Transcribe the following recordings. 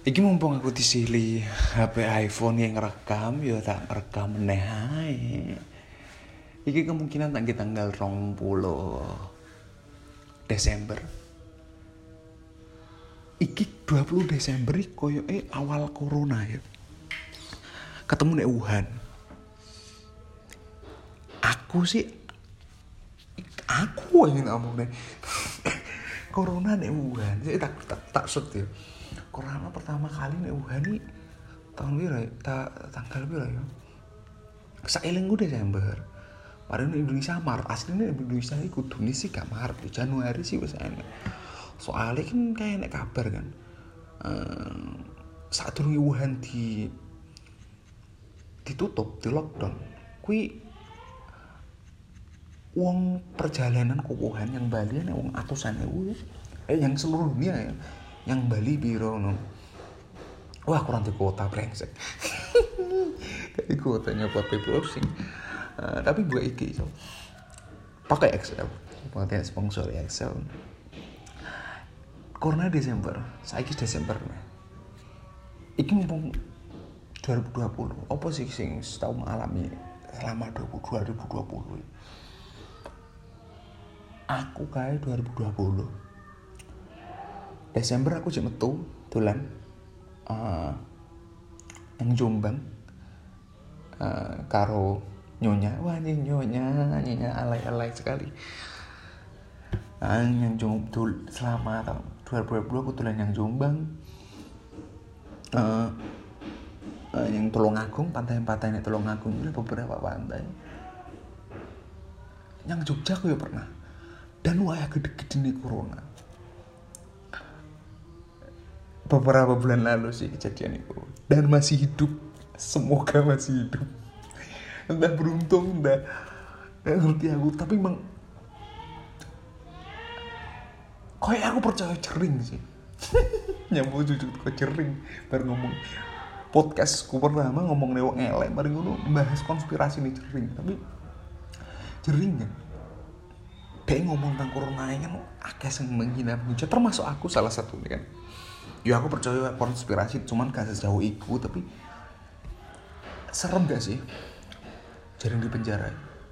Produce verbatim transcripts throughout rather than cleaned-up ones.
Iki mumpung aku disili H P iPhone yang ngerekam, ya tak rekam meneh ae. Iki kemungkinan tanggal tanggal dua puluh Desember. Iki dua puluh Desember iki koyoke awal corona ya. Ketemu nek Wuhan. Aku sih aku ingin ngomong nih. Corona nek Wuhan, saya tak tak tak shoot ya. Corona pertama kali nek Wuhan iki tahun pira ya? Ta, tanggal pira ya? Saelingku Desember. Padahal Indonesia Maret, aslinya Indonesia iki kudune sih gak Maret, Januari sih wis enak. Soalnya kan kayak nek kabar kan. Uh, saat durunge Wuhan di ditutup, di lockdown. Kui wong perjalanan ke Wuhan yang Bali nek wong atusan ewu. Eh yang seluruh dunia ya. Yang Bali biro no. Wah kurang di kota brengsek. Di kota nyopot browsing. Uh, tapi gue iki so. Pakai Excel. Pakai sponsor Excel. Corona Desember, saiki Desember. Iki mumpung dua ribu dua puluh. Apa sih sing tau mengalami selama dua ribu dua puluh? Aku kae dua ribu dua puluh. Desember aku jek metu dolan uh, yang Jombang uh, karo nyonya. Wah ini nyonya, nyonya alay-alay sekali. Uh, yang Jombang selama tahun dua ribu dua puluh aku dolan yang Jombang. Uh, uh, yang Tulungagung, pantai-pantai ini Tulungagung itu beberapa pantai. Yang Jogja aku ya pernah. Dan waya gede-gede nih corona. Beberapa bulan lalu sih kejadian itu. Dan masih hidup. Semoga masih hidup. Entah beruntung, entah gak ngerti aku. Tapi emang kayak aku percaya cering sih. Nyambung jujur kok cering. Baru ngomong podcastku pertama ngomong lewat ngelek. Baru ngono bahas konspirasi nih cering. Tapi cering kan. Kayak ngomong tentang corona ini kan akeh sing menghina menghujat, termasuk aku salah satu nih kan. Ya aku percaya konspirasi, cuman gak sejauh itu. Tapi serem gak sih jaring di penjara?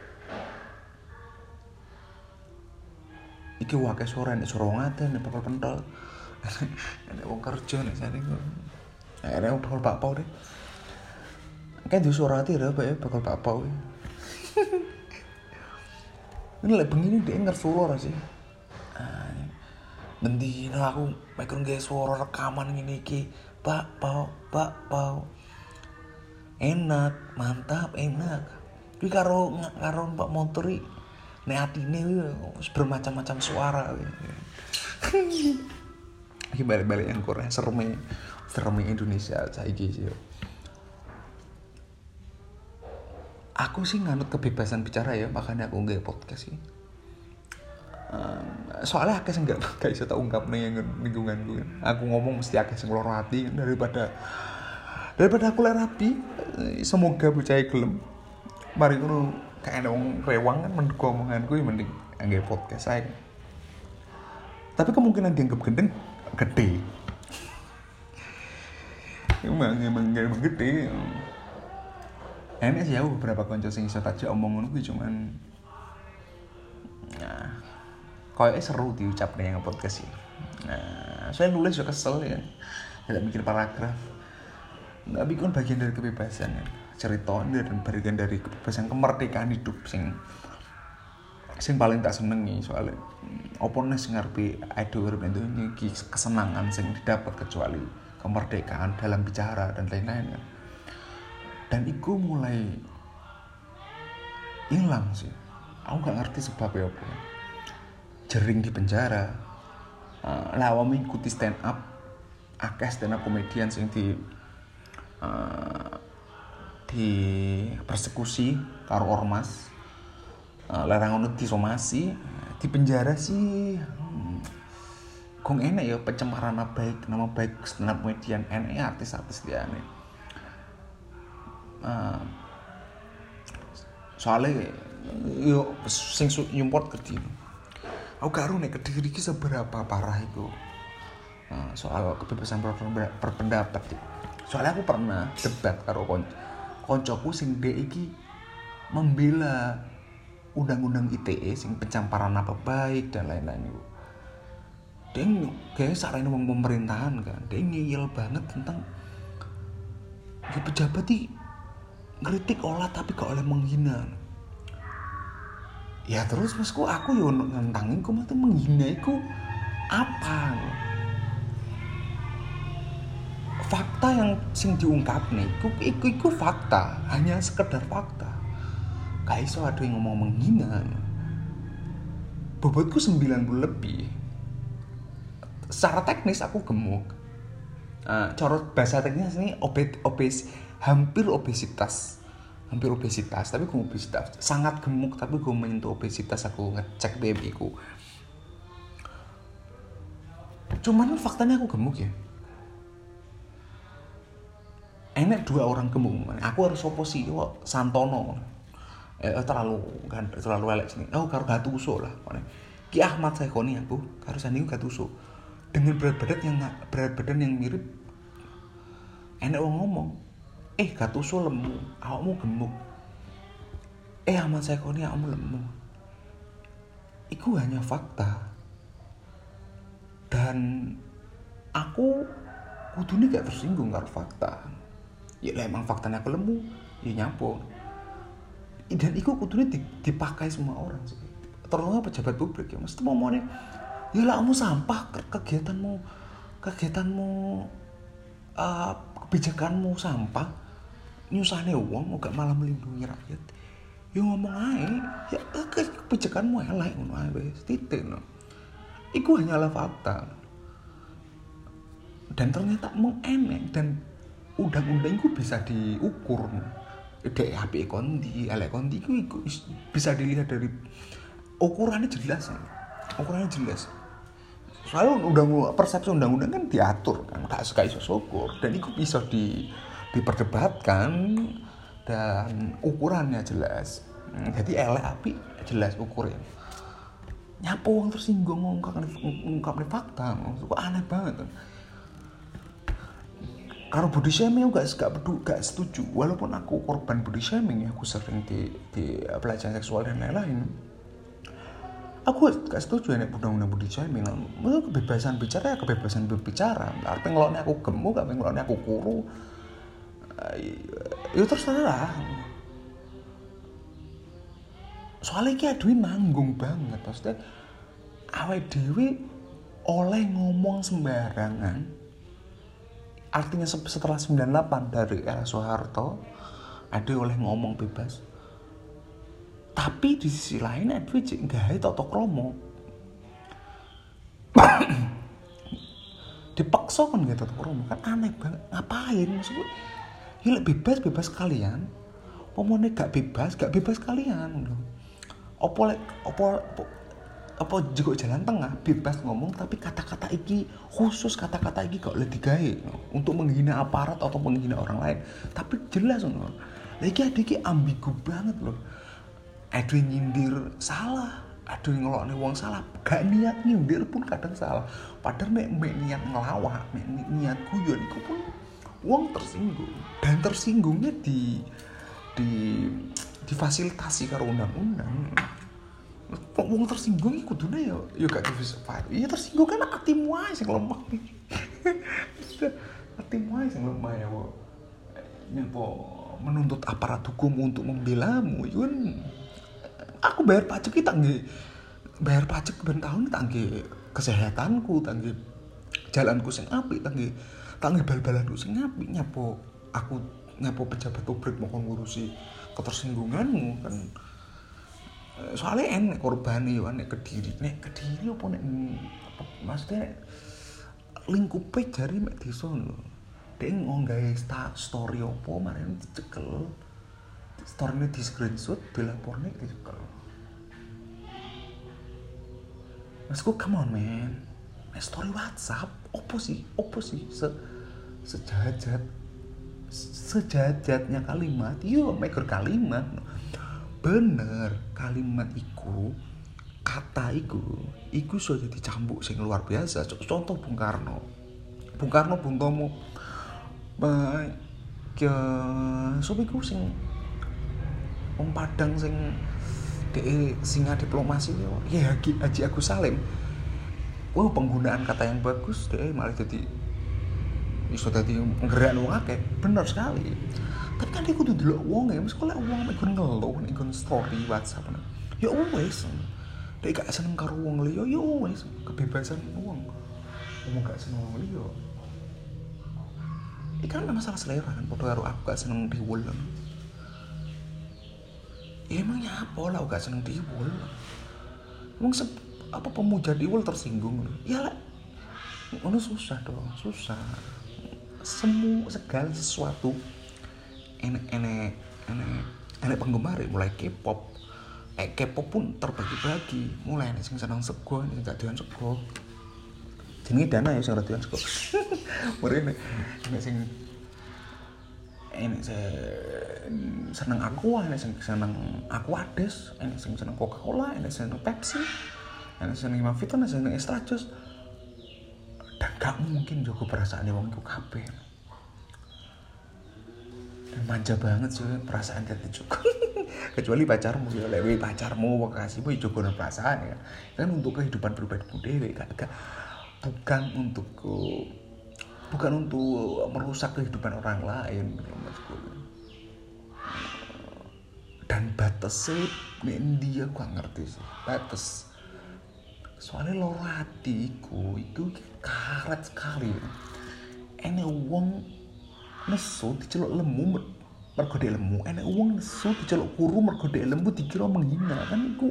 Iki wakai suara nek suara ngaten nek bakal pentol. Nek wong kerja nek sane kok. Nek wong bakal bakpao deh. Kan di suara ati ya bakal bakpao. Ini lek bengi dhek ngersulo ra sih. Ah. Mendina aku mikir nggae suara rekaman ngene iki. Bakpao, bakpao. Enak, mantap, enak. Kuwi karo karo Pak motor iki nek atine wis bermacam-macam suara. Iki balik-balik yang Korea sereme, sereme Indonesia saiki sih. Aku sih nganut kebebasan bicara ya, makanya aku nggak podcast sih. Um, soalnya akeh sing nggak gak bisa tak ungkap nih yang lingkungan gue. Aku ngomong mesti akeh sing loro hati daripada daripada aku rapi. Semoga percaya gelem. Mari ngono kayak wong rewang kan menduk omonganku ya mending nggak podcast aja. Tapi kemungkinan dianggap gendeng gede. Emang emang emang gede. Enak sih aku beberapa konco sing iso tajak omong ngono kuwi cuman nah koyoke seru diucap ning podcast iki. Nah, saya nulis juga kesel ya. Tidak bikin paragraf. Tapi kan bagian dari kebebasan ya. Cerita dan bagian dari kebebasan kemerdekaan hidup sing sing paling tak senengi soalnya opo nek sing ngarepe ide urip ini kesenangan sing didapat kecuali kemerdekaan dalam bicara dan lain-lain kan. Dan itu mulai hilang sih. Aku gak ngerti sebabnya apa. Jering di penjara. Uh, lah awam ikuti stand up. Akeh stand up komedian sing di uh, di persekusi karo ormas. Uh, larang ngono disomasi, di penjara sih. Hmm, gong enak ya pencemaran nama baik, nama baik stand up komedian, enak artis-artis dia nih. Uh, soalnya yo sing import Kediri. Aku karo nek Kediri iki seberapa parah iku. uh, soal kebebasan berpendapat. Soalnya aku pernah debat karo kon koncoku sing dhek iki membela undang-undang I T E sing pencamparan nama baik dan lain-lain itu. Dia kayak sarane wong pemerintahan kan, dia ngeyel banget tentang ya pejabat iki ngeritik olah tapi gak oleh menghina. Ya terus masku aku yo ngentangin ku mesti menghina iku apa? Fakta yang sing diungkap nih, iku, iku, iku fakta, hanya sekedar fakta. Gak iso ada yang ngomong menghina. Bobotku sembilan puluh lebih. Secara teknis aku gemuk. Uh, corot bahasa teknis ini obes, obes, hampir obesitas. Hampir obesitas, tapi gue obesitas. Sangat gemuk, tapi gue menyentuh obesitas, aku ngecek B M I ku. Cuman faktanya aku gemuk ya. Enak dua orang gemuk, aku harus opo sih, wah Santono, eh, terlalu kan terlalu elek sini. Oh karo Gattuso lah, Ki Ahmad Saikoni aku, karo sandingu Gattuso, dengan berat badan yang berat badan yang mirip. Enak orang ngomong, eh Gattuso lemu, awakmu gemuk. Eh Ahmad Saikoni awakmu lemu. Iku hanya fakta. Dan aku kudune gak tersinggung karo fakta. Ya emang faktanya aku lemu, ya nyapo. Dan itu kudune dipakai semua orang sih. Terutama pejabat publik ya, mesti ngomongnya, ya lah kamu sampah, kegiatanmu, kegiatanmu, uh, kebijakanmu sampah, nyusahne uang, gak malah melindungi rakyat. Ya ngomong aja, ya kebijakanmu elek ngono ae wis titik no. Iku hanyalah fakta. Dan ternyata mung enek dan undang-undang itu bisa diukur. Dek H P kondi, elek kondi itu bisa dilihat dari ukurannya jelas ya. Ukurannya jelas. Soalnya undang persepsi undang-undang kan diatur kan, gak suka iso syukur dan itu bisa di diperdebatkan dan ukurannya jelas. Jadi elek api jelas ukurnya. Nyapo wong tersinggung ngungkapne fakta, kok aneh banget kan. Kalau body shaming aku gak, gak, gak setuju. Walaupun aku korban body shaming, aku sering di, di pelecehan seksual dan lain-lain. Aku gak setuju ya undang-undang body shaming. Maksudnya kebebasan bicara ya kebebasan berbicara. Apa ngeloknya aku gemuk, apa ngeloknya aku kuru, ya terserah. Soalnya ki aduh nanggung banget. Maksudnya awake dhewe oleh ngomong sembarangan. Artinya setelah sembilan puluh delapan dari era Soeharto ada oleh ngomong bebas. Tapi di sisi lain ada cek gawe tata krama. Dipaksa kan gitu tata krama kan aneh banget. Ngapain maksudnya? Ya bebas bebas kalian. Pomone gak bebas, gak bebas kalian. Opo lek opo apa juga jalan tengah bebas ngomong tapi kata-kata iki khusus kata-kata iki gak boleh digawe untuk menghina aparat atau menghina orang lain tapi jelas loh lagi ada iki ambigu banget loh ada yang nyindir salah ada yang ngelokne wong salah gak niat nyindir pun kadang salah padahal mek mek niat ngelawak mek niat guyon iku pun wong tersinggung dan tersinggungnya di di difasilitasi karo undang-undang. Kok wong tersinggung iki kudune ya ya gak difilsafat. Iya tersinggung kan atimu ae sing lemah. Atimu ae sing lemah ya, Bu. Nyapa menuntut aparat hukum untuk membelamu itu kan aku bayar pajak iki tak nggih bayar pajak ben tahun tak nggih kesehatanku, tak nggih jalanku sing apik, tak nggih tak nggih bal-balanku sing apik nyapa aku nyapa pejabat publik mau ngurusi ketersinggunganmu kan. Soalnya enek korbane yo nek Kediri nek Kediri opo nek maksudnya lingkupe jari mek desa lho dek nggawe story opo maren dicekel storyne di screenshot dilaporne dicekel. Masku come on man nek story WhatsApp opo sih opo sih se sejahat sejahat-jahatnya kalimat yo maker kalimat bener kalimat iku kata iku iku iso dadi cambuk sing luar biasa. Contoh Bung Karno Bung Karno Bung Tomo ba ke sapa iku sing wong Padang sing dhek singa diplomasi ya Haji, Haji Agus Salim. Wah, penggunaan kata yang bagus dhek malah jadi iso dadi nggerakno wong akeh. Bener sekali. Tapi kan dia kudu delok wong ya, mesti lek wong mek ngeluh nek nggon story WhatsApp. Ya wis. Dek gak seneng karo wong liya, ya wis, kebebasan wong. Wong gak seneng wong liya. Iki kan masalah selera kan, padha karo aku gak seneng diwul. Ya emangnya apa lah gak seneng diwul. Wong se- apa pemuja diwul tersinggung. Ya lah. Ngono susah dong, susah. Semua segala sesuatu enek-enek enek enek penggemar mulai K-pop. Eh K-pop pun terbagi-bagi. Mulai enek sing seneng sego, enek gak doyan sego. Jenenge Dana ya sing doyan sego. Mrene enek sing enek sing seneng Aqua, enek sing seneng Aquades, enek sing seneng Coca-Cola, enek sing seneng Pepsi, enek sing seneng Mavito, enek sing seneng Extra Jus. Dan gak mungkin jago perasaane wong iku kabeh. Dan manja banget sih perasaan dadi juga. Kecuali pacarmu ya, lek pacarmu kasihmu ya jogono perasaan ya. Kan untuk kehidupan pribadimu dhewe gak, gak bukan untuk bukan untuk merusak kehidupan orang lain maksudku. Dan batasnya nek ndi aku gak ngerti sih. Batas. Soalnya loro hatiku itu karet sekali. Ene wong nesu diceluk lemu mergo dhek lemu, enek wong nesu diceluk kuru mergo dhek lembu dikira menghina. Kan iku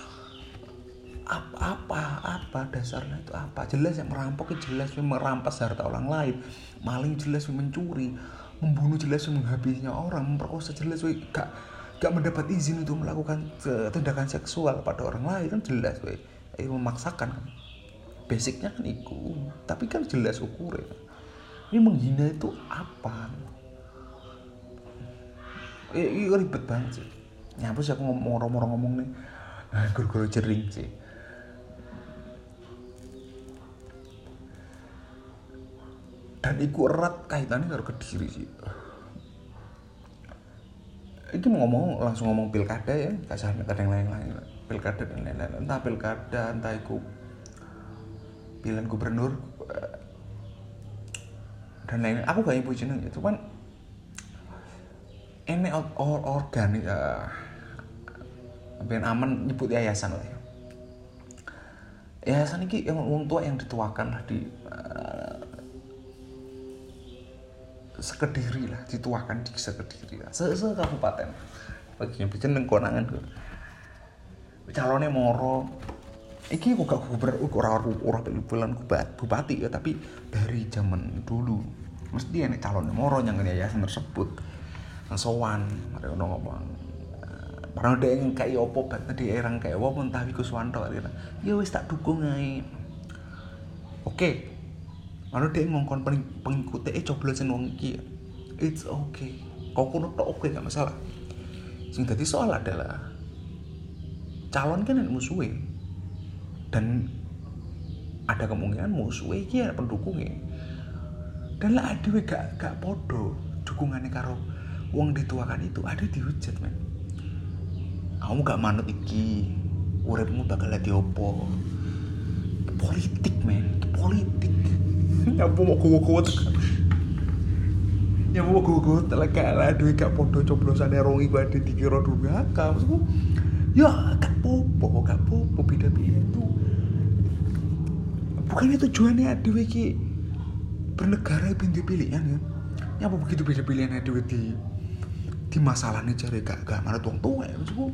apa apa dasarnya itu apa? Jelas yang merampok, jelas yang merampas harta orang lain, maling jelas yang mencuri, membunuh jelas yang menghabisnya orang, memperkosa jelas yang gak gak mendapat izin untuk melakukan tindakan seksual pada orang lain. Kan jelas we eh, memaksakan kan. Basicnya kan iku, tapi kan jelas ukurnya. Ini menghina itu apa? Eh, ini ribet banget sih. Nyapa sih aku ngomong-ngomong ngomong nih, nah, guru-guru jering sih. Dan iku erat kaitannya karo Kediri sih. Ini mau ngomong langsung ngomong pilkada ya, gak usah kadang lain-lain. Pilkada dan lain-lain. Entah pilkada, entah iku pilihan gubernur dan lain-lain. Aku gak ibu jeneng ya, cuman ini or organik uh, ben aman nyebut yayasan lah ya. Yayasan ini yang wong tua yang dituakan lah di uh, Sekediri lah, dituakan di Sekediri lah, se-se kabupaten. Bagian jeneng konangan tuh. Calonnya moro. Iki kok gak gubernur ora ora pilihan bupati ya, tapi dari zaman dulu mesti enek calonnya moro yang yayasan tersebut. Sowan, mari ono ngomong. Barang dhek yang kaya opo bat di erang kaya opo entah iku Suwanto kira. Ya wis tak dukung ae. Oke. Mano dhek ngongkon pengikute e coblosen wong iki. It's okay. Kok kono tok oke gak masalah. Sing dadi soal adalah calon kan enek musuhe. Dan ada kemungkinan musuhe iki ana pendukungnya. Dan lah adewe gak gak podo dukungane karo wong dituakan itu, ada dihujat men. Kamu gak manut iki, uripmu bakal dadi opo? Politik men, politik. Nyapa mau gowo-gowo tekan. Nyapa mau gowo-gowo tekan lah, duwe gak podo coblosane rong iku ade dikira durhaka. Maksudku, ya gak popo, gak popo beda pilihan tuh. Bukannya tujuannya adewe iki bernegara ben pilihan ya. Nyapa begitu beda pilihan adewe di di masalahnya cari gak gak marah tuang tua ya maksudku.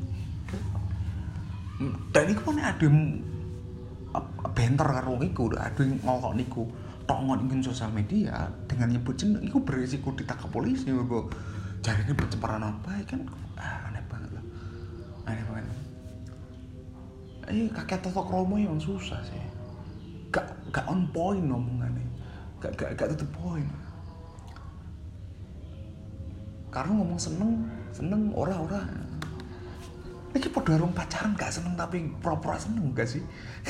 Dan iku kan ada benter karo iku, ada ngokok niku tongon ingin sosial media dengan nyebut jeneng iku beresiko ditangkap polisi mergo jarine pencemaran apa kan. Ah, aneh banget lah. Aneh banget. Eh kakek Toto Kromo yang susah sih. Gak gak on point ngomongannya. Gak gak gak to the point. Karena ngomong seneng, seneng ora-ora. Iki padha karo pacaran gak seneng tapi pura-pura seneng gak sih?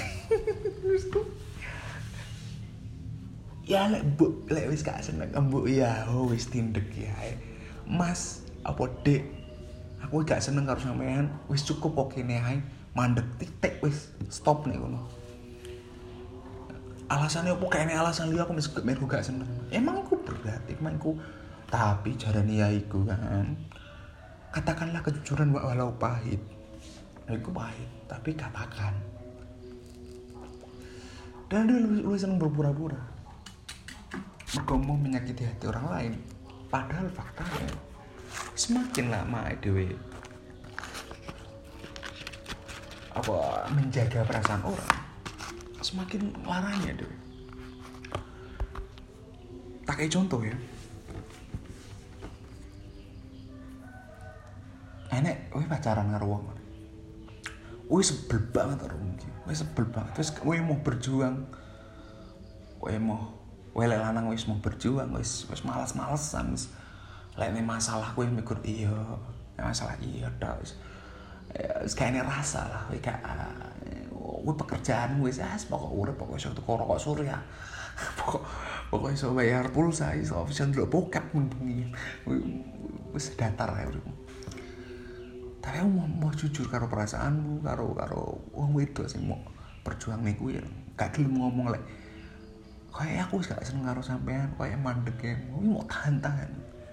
Ya lek mbok lek wis gak seneng mbok ya oh wis tindek ya. Mas apa Dek? Aku gak seneng karo sampean, wis cukup kok kene ae. Mandek titik wis stop nek ngono. Alasannya apa kayaknya alasan liya aku mesti meru gak seneng. Emang aku berat, emang aku tapi jarane ya iku kan. Katakanlah kejujuran walau pahit. Iku pahit, tapi katakan. Dan dia lebih, lebih seneng berpura-pura. Mergo mau menyakiti hati orang lain. Padahal faktanya semakin lama dhewe apa menjaga perasaan orang, semakin larangnya deh. Tak kayak contoh ya. Enek, wih pacaran karo wong. Wih sebel banget karo wong iki. Wih sebel banget. Terus wih mau berjuang. Wih mau wih lek lanang wis mau berjuang, wis wis malas-malesan. Lek ne masalah wih mikir iya, masalah iya tok. Wis kayaknya rasa lah, wih kayak gue pekerjaan gue sih, pokok urip pokok iso tuku rokok surya, pokok pokok iso bayar pulsa, iso bisa ndelok bokep mun bengi, wis datar ya urip. Tapi aku mau, mau jujur karo perasaanmu, karo karo wong wedok sing mau berjuang nih gue, gak gelem ngomong lek, kayak aku gak seneng karo sampean, kayak mandek ya, mau tahan-tahan,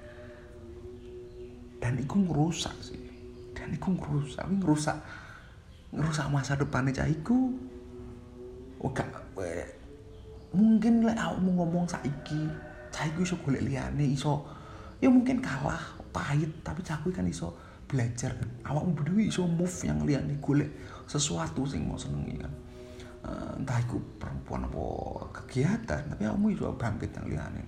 dan itu ngerusak sih. Dan iku ngerusak, ngerusak ngerusak masa depannya cahiku. Oh gak, mungkin lek aku mau ngomong saiki, cahiku iso golek liyane, iso ya mungkin kalah, pahit, tapi cahiku kan iso belajar kan. Awakmu berdua iso move yang liyane golek sesuatu sing mau senengi kan. Uh, entah iku perempuan apa kegiatan, tapi awakmu iso bangkit yang liyane.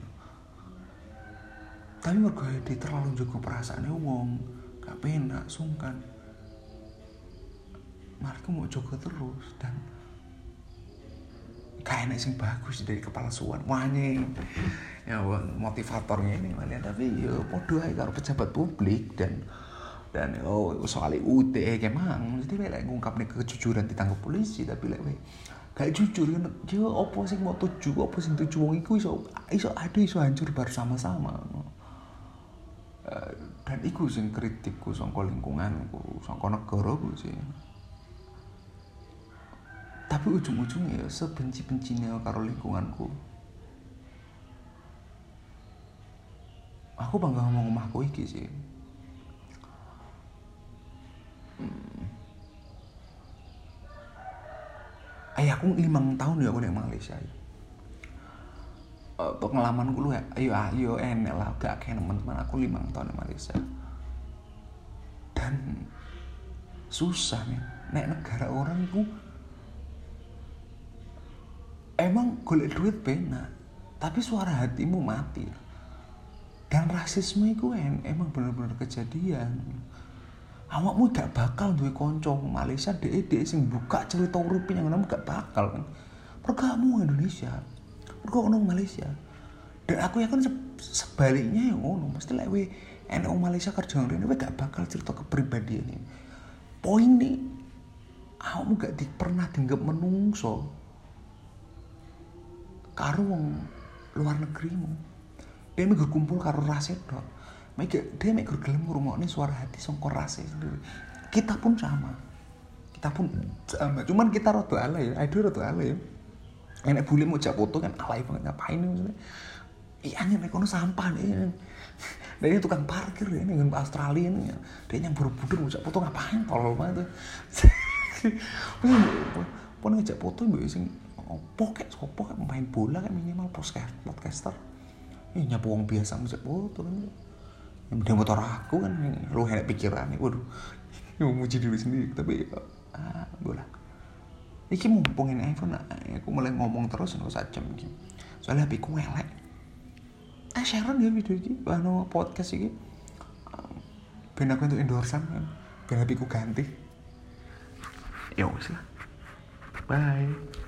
Tapi mergo dia terlalu jaga perasaane wong. Gak penak, sungkan. Mereka mau jaga terus dan gak enak sing bagus dari kepalsuan. Wahnya ya motivatornya ini malah tapi ya podo ae karo pejabat publik dan dan oh soal U T E kemang mesti lek ngungkapne kejujuran ditangkap polisi tapi lek gak jujur kan yo opo sing mau tuju opo sing tuju wong iku iso iso ado iso hancur bersama-sama. Dan iku sing kritikku saka lingkunganku, saka negaraku sih. Tapi ujung-ujungnya ya sebenci-bencinya karo lingkunganku. Aku bangga ngomong omahku iki sih. Hmm. Ayah aku limang tahun ya aku di Malaysia ya. Uh, pengalaman gue lu ya, ayo ayo enak lah, gak kayak teman-teman aku lima tahun di Malaysia dan susah nih, nek negara orang itu emang golek duit benar, tapi suara hatimu mati dan rasisme itu en, emang bener-bener kejadian. Awakmu gak bakal duwe konco Malaysia dek dek sing buka cerita urip yang namanya gak bakal kan, pergamu Indonesia. Mergo ono Malaysia. Dan aku yakin sebaliknya ya ngono, mesti lek we enek wong Malaysia kerja ngene we gak bakal cerita kepribadian ini. Poin nih, awakmu gak di, pernah dianggap menungso karo wong luar negerimu. Dia mek kumpul karo rase tok. Mek dia mek gelem ngrungokne suara hati saka rase sendiri. Kita pun sama. Kita pun sama. Cuman kita rada alay ya, aduh rada alay ya. Enak bule mau jak foto kan alay banget ngapain nih maksudnya. Iya nek kono sampah nih. Dia tukang parkir ya ning Australia nih. Dia yang buru-buru mau jak foto ngapain tolol banget. Pon ngejak foto mbek sing opo kek sopo kek main bola kan minimal podcast podcaster. Ini nyapu wong biasa ngejak foto kan. Yang dia motor aku kan lu enak pikiran nih. Waduh. Mau muji diri sendiri tapi ah bola. Iki mumpungin iPhone, aku mulai ngomong terus nggak usah jam gitu. Soalnya H P ku elek. Ah share ya video ini, bahno podcast ini. Ben aku untuk endorsean kan, ben H P ku ganti. Ya wis lah. Bye.